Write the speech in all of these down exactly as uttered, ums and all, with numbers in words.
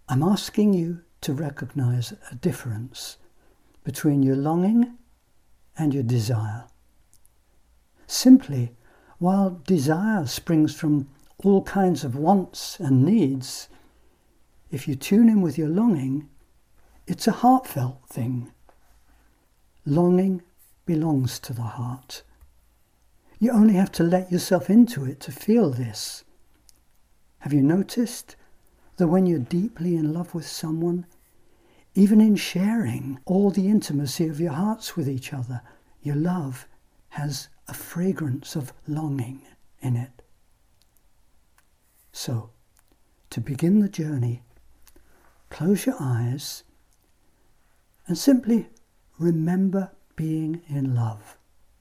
I'm asking you to recognize a difference between your longing and your desire. Simply, while desire springs from all kinds of wants and needs, if you tune in with your longing, it's a heartfelt thing. Longing belongs to the heart. You only have to let yourself into it to feel this. Have you noticed that when you're deeply in love with someone, even in sharing all the intimacy of your hearts with each other, your love has a fragrance of longing in it? So, to begin the journey, close your eyes and simply remember being in love.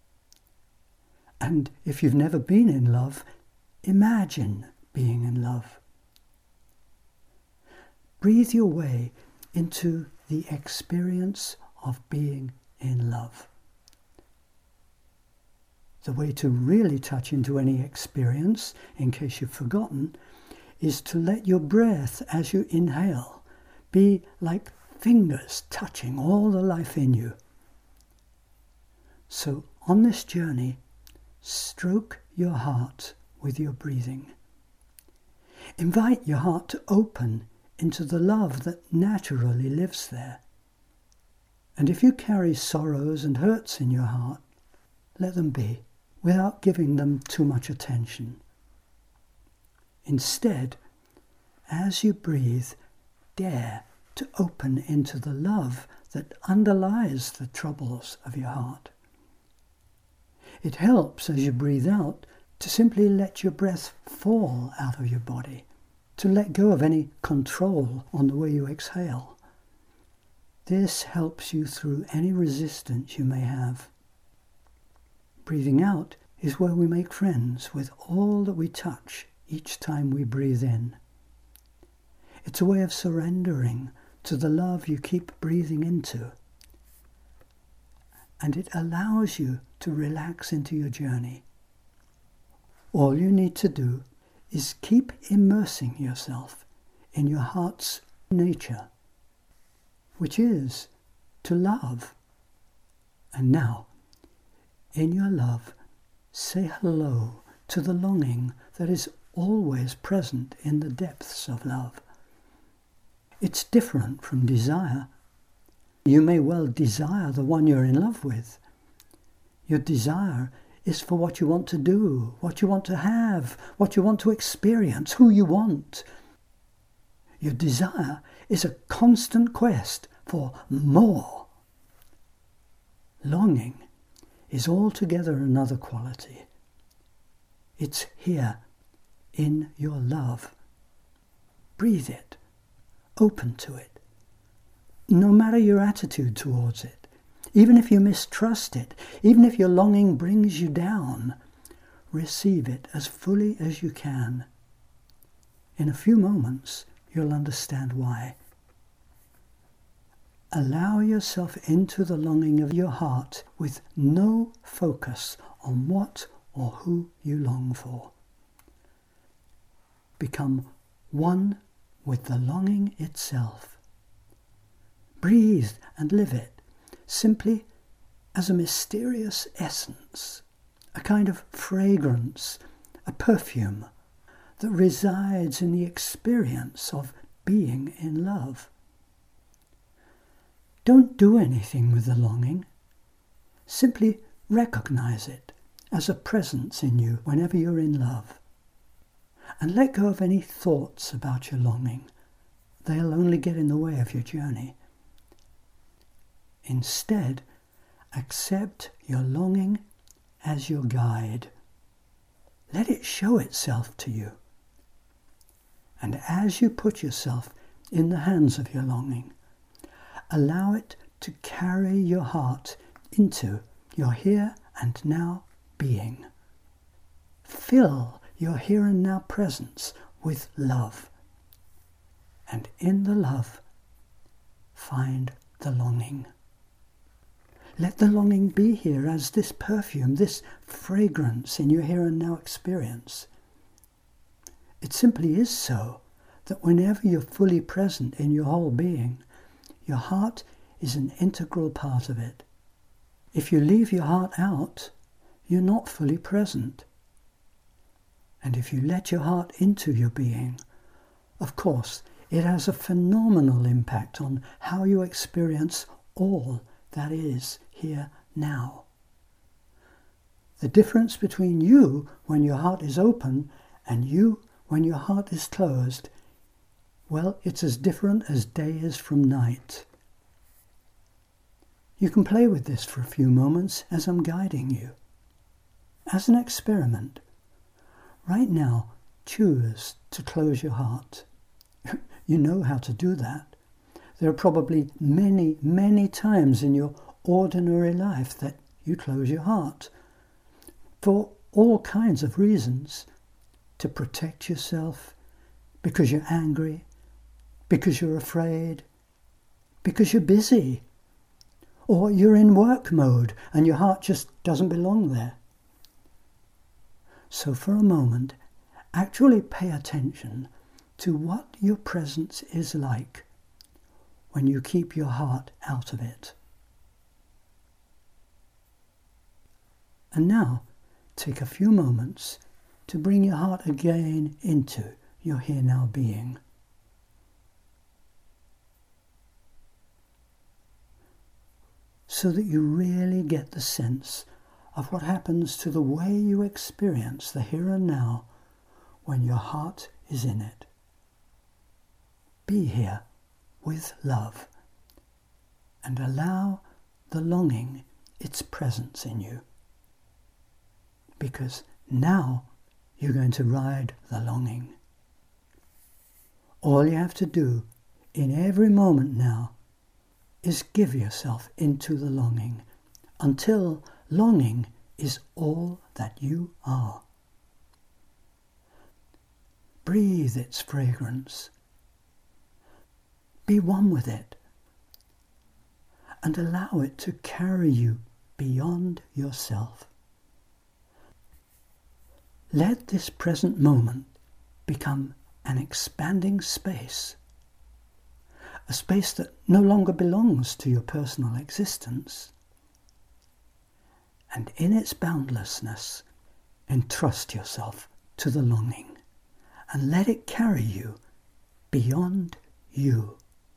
And if you've never been in love, imagine being in love. Breathe your way into the experience of being in love. The way to really touch into any experience, in case you've forgotten, is to let your breath as you inhale be like fingers touching all the life in you. So on this journey, stroke your heart with your breathing. Invite your heart to open into the love that naturally lives there. And if you carry sorrows and hurts in your heart, let them be, without giving them too much attention. Instead, as you breathe, dare to open into the love that underlies the troubles of your heart. It helps as you breathe out to simply let your breath fall out of your body, to let go of any control on the way you exhale. This helps you through any resistance you may have. Breathing out is where we make friends with all that we touch each time we breathe in. It's a way of surrendering to the love you keep breathing into. And it allows you to relax into your journey. All you need to do is keep immersing yourself in your heart's nature, which is to love. And now, in your love, say hello to the longing that is always present in the depths of love. It's different from desire. You may well desire the one you're in love with. Your desire is for what you want to do, what you want to have, what you want to experience, who you want. Your desire is a constant quest for more. Longing is altogether another quality. It's here in your love. Breathe it. Open to it. No matter your attitude towards it, even if you mistrust it, even if your longing brings you down, receive it as fully as you can. In a few moments, you'll understand why. Allow yourself into the longing of your heart with no focus on what or who you long for. Become one with the longing itself. Breathe and live it simply as a mysterious essence, a kind of fragrance, a perfume that resides in the experience of being in love. Don't do anything with the longing. Simply recognize it as a presence in you whenever you're in love. And let go of any thoughts about your longing. They'll only get in the way of your journey. Instead, accept your longing as your guide. Let it show itself to you. And as you put yourself in the hands of your longing, allow it to carry your heart into your here and now being. Fill your here and now presence with love. And in the love, find the longing. Let the longing be here as this perfume, this fragrance in your here and now experience. It simply is so that whenever you're fully present in your whole being, your heart is an integral part of it. If you leave your heart out, you're not fully present. And if you let your heart into your being, of course, it has a phenomenal impact on how you experience all that is here now. The difference between you when your heart is open and you when your heart is closed, well, it's as different as day is from night. You can play with this for a few moments as I'm guiding you. As an experiment, right now, choose to close your heart. You know how to do that. There are probably many, many times in your ordinary life that you close your heart for all kinds of reasons. To protect yourself, because you're angry, because you're afraid, because you're busy, or you're in work mode and your heart just doesn't belong there. So for a moment, actually pay attention to what your presence is like when you keep your heart out of it. And now, take a few moments to bring your heart again into your here-now being. So that you really get the sense of what happens to the way you experience the here and now when your heart is in it. Be here with love and allow the longing its presence in you. Because now you're going to ride the longing. All you have to do in every moment now is give yourself into the longing until longing is all that you are. Breathe its fragrance. Be one with it and allow it to carry you beyond yourself. Let this present moment become an expanding space, a space that no longer belongs to your personal existence. And in its boundlessness, entrust yourself to the longing and let it carry you beyond you.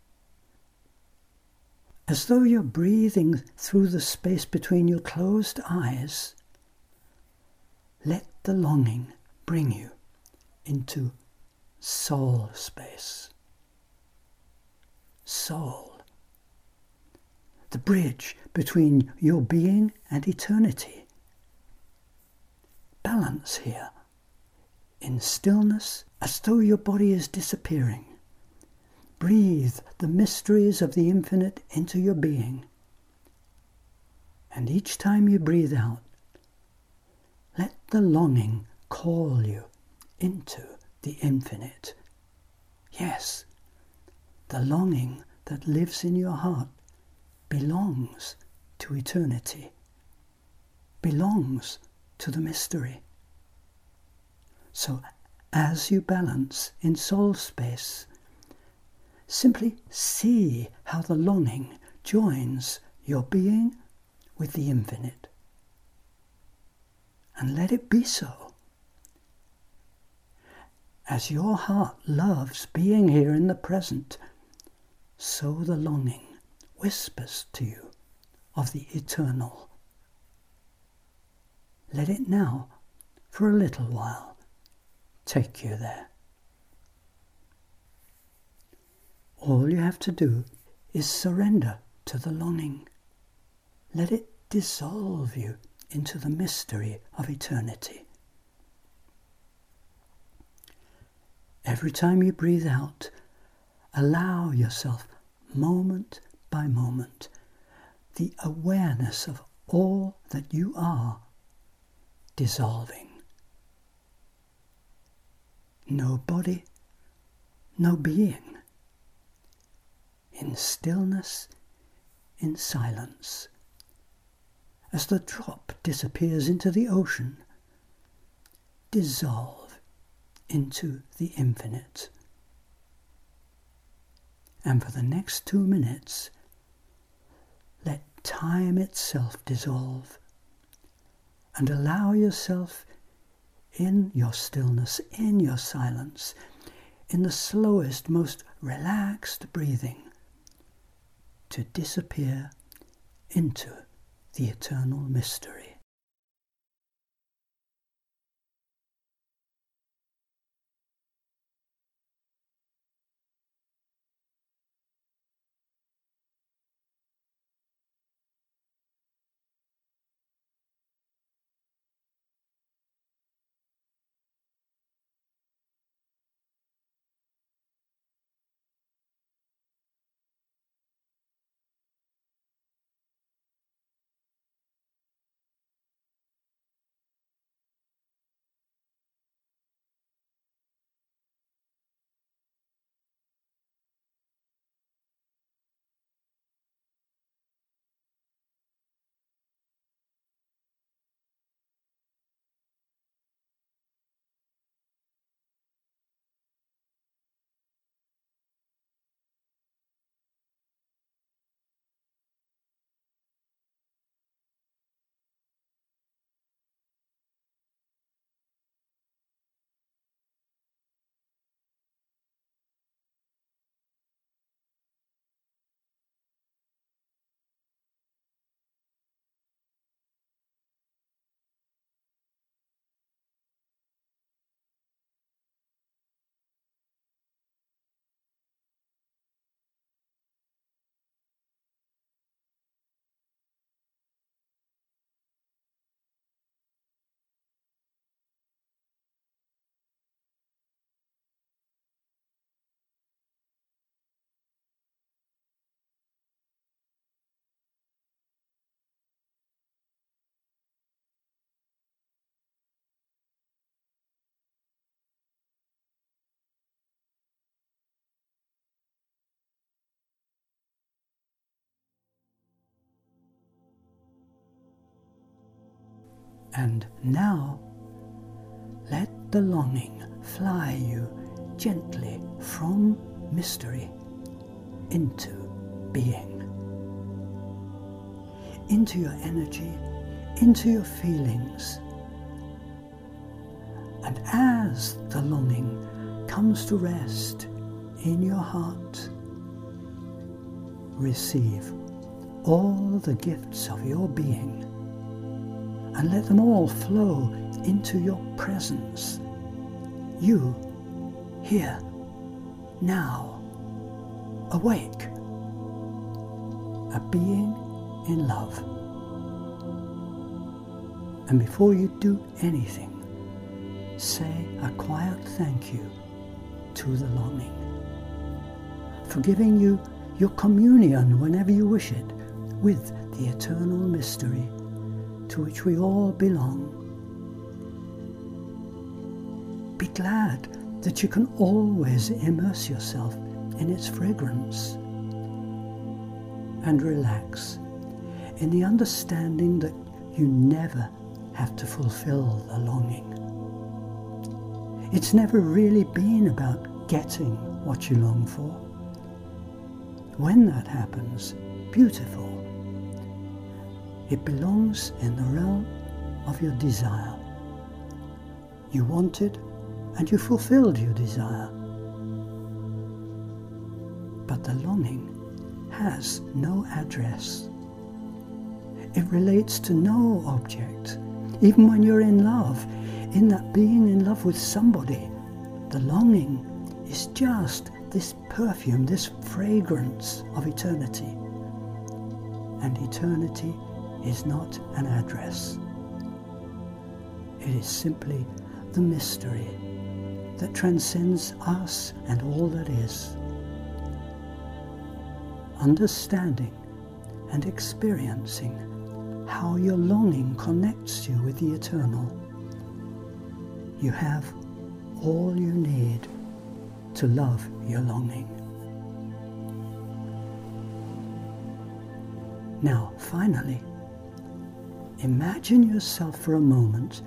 As though you're breathing through the space between your closed eyes, let the longing bring you into soul space. Soul. The bridge between your being and eternity. Balance here. In stillness, as though your body is disappearing. Breathe the mysteries of the infinite into your being. And each time you breathe out, let the longing call you into the infinite. Yes, the longing that lives in your heart belongs to eternity, belongs to the mystery. So as you balance in soul space, simply see how the longing joins your being with the infinite. And let it be so. As your heart loves being here in the present, so the longing whispers to you of the eternal. Let it now, for a little while, take you there. All you have to do is surrender to the longing. Let it dissolve you into the mystery of eternity. Every time you breathe out, allow yourself, moment by moment, the awareness of all that you are dissolving. No body, no being. In stillness, in silence. As the drop disappears into the ocean, dissolve into the infinite. And for the next two minutes, let time itself dissolve and allow yourself in your stillness, in your silence, in the slowest, most relaxed breathing, to disappear into the eternal mystery. And now, let the longing fly you gently from mystery into being, into your energy, into your feelings. And as the longing comes to rest in your heart, receive all the gifts of your being and let them all flow into your presence. You, here, now, awake, a being in love. And before you do anything, say a quiet thank you to the longing for giving you your communion whenever you wish it with the eternal mystery to which we all belong. Be glad that you can always immerse yourself in its fragrance, and relax in the understanding that you never have to fulfill the longing. It's never really been about getting what you long for. When that happens, beautiful. It belongs in the realm of your desire. You wanted and you fulfilled your desire. But the longing has no address. It relates to no object. Even when you're in love, in that being in love with somebody, the longing is just this perfume, this fragrance of eternity. And eternity is not an address. It is simply the mystery that transcends us and all that is. Understanding and experiencing how your longing connects you with the eternal, you have all you need to love your longing. Now, finally, imagine yourself for a moment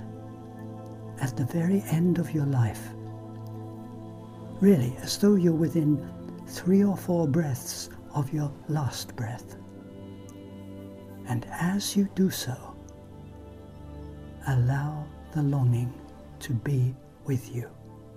at the very end of your life, really as though you're within three or four breaths of your last breath. And as you do so, allow the longing to be with you.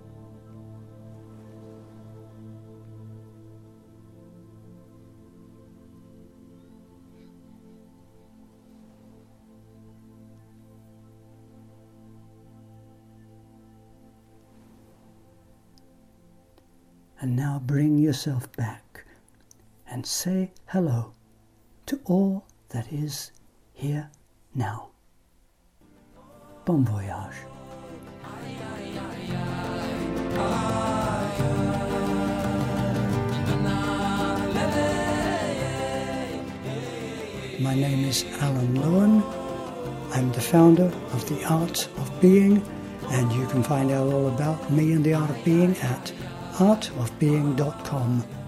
And now bring yourself back and say hello to all that is here now. Bon voyage. My name is Alan Lewin. I'm the founder of The Art of Being, and you can find out all about me and The Art of Being at art of being dot com.